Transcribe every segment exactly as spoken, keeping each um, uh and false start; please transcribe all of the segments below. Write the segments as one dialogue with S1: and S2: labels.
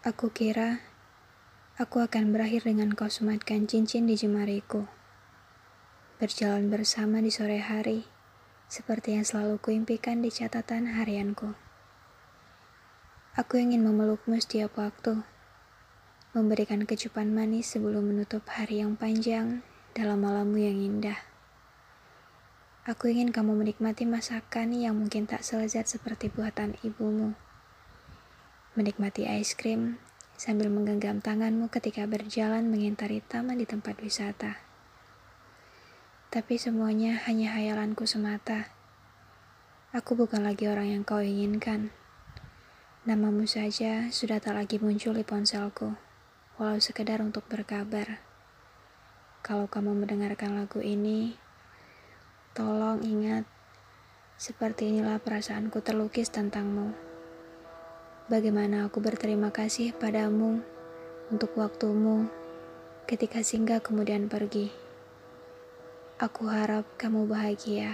S1: Aku kira aku akan berakhir dengan kau sematkan cincin di jemariku. Berjalan bersama di sore hari, seperti yang selalu kuimpikan di catatan harianku. Aku ingin memelukmu setiap waktu, memberikan kecupan manis sebelum menutup hari yang panjang dalam malammu yang indah. Aku ingin kamu menikmati masakan yang mungkin tak selezat seperti buatan ibumu. Menikmati es krim sambil menggenggam tanganmu ketika berjalan mengintari taman di tempat wisata. Tapi semuanya hanya hayalanku semata. Aku bukan lagi orang yang kau inginkan. Namamu saja sudah tak lagi muncul di ponselku, walau sekedar untuk berkabar. Kalau kamu mendengarkan lagu ini, tolong ingat, seperti inilah perasaanku terlukis tentangmu. Bagaimana aku berterima kasih padamu untuk waktumu ketika singgah kemudian pergi. Aku harap kamu bahagia.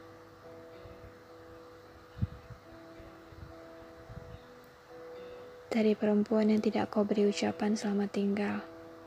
S1: Dari perempuan yang tidak kau beri ucapan selamat tinggal.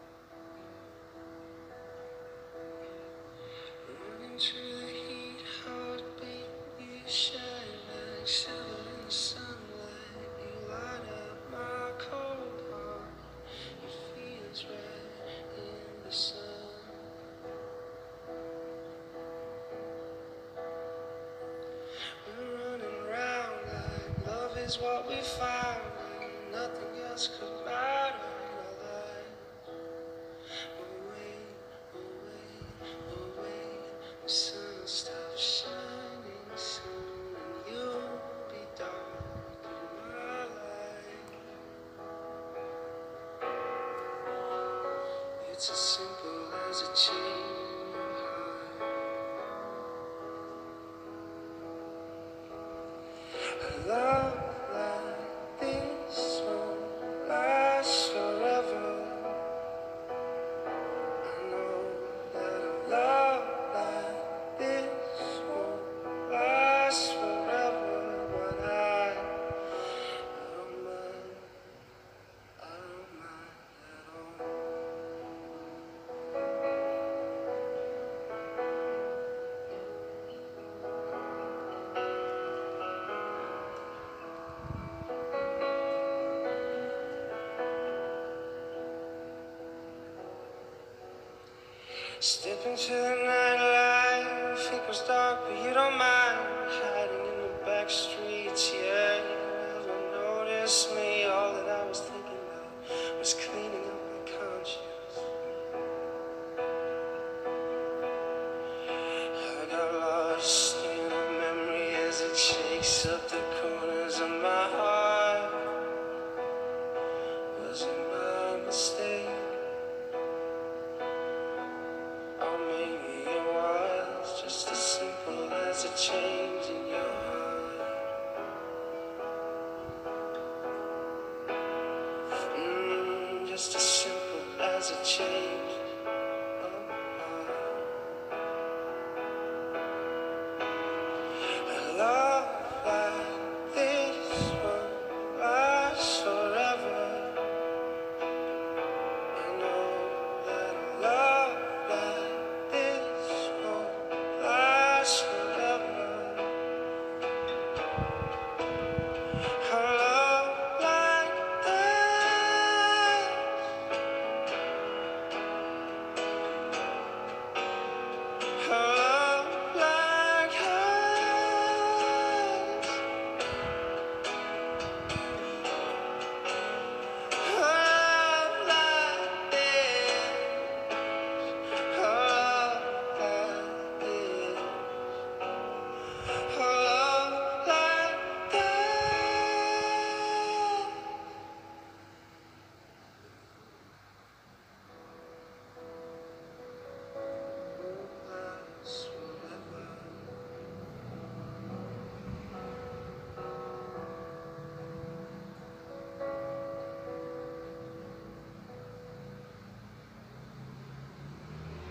S2: Is what we found, and nothing else could matter in our lives. Away, away, away, the sun will stop shining soon, and you'll be dark in my life. It's as simple as a change in your heart. I love step into the nightlife, it goes dark, but you don't mind hiding in the back streets. Yeah, you never noticed me. All that I was thinking of was cleaning up my conscience. I got lost in a memory as it shakes up the corners of my heart. Was it my mistake? Or maybe it was just as simple as a change in your heart. Mm, just as simple as a change.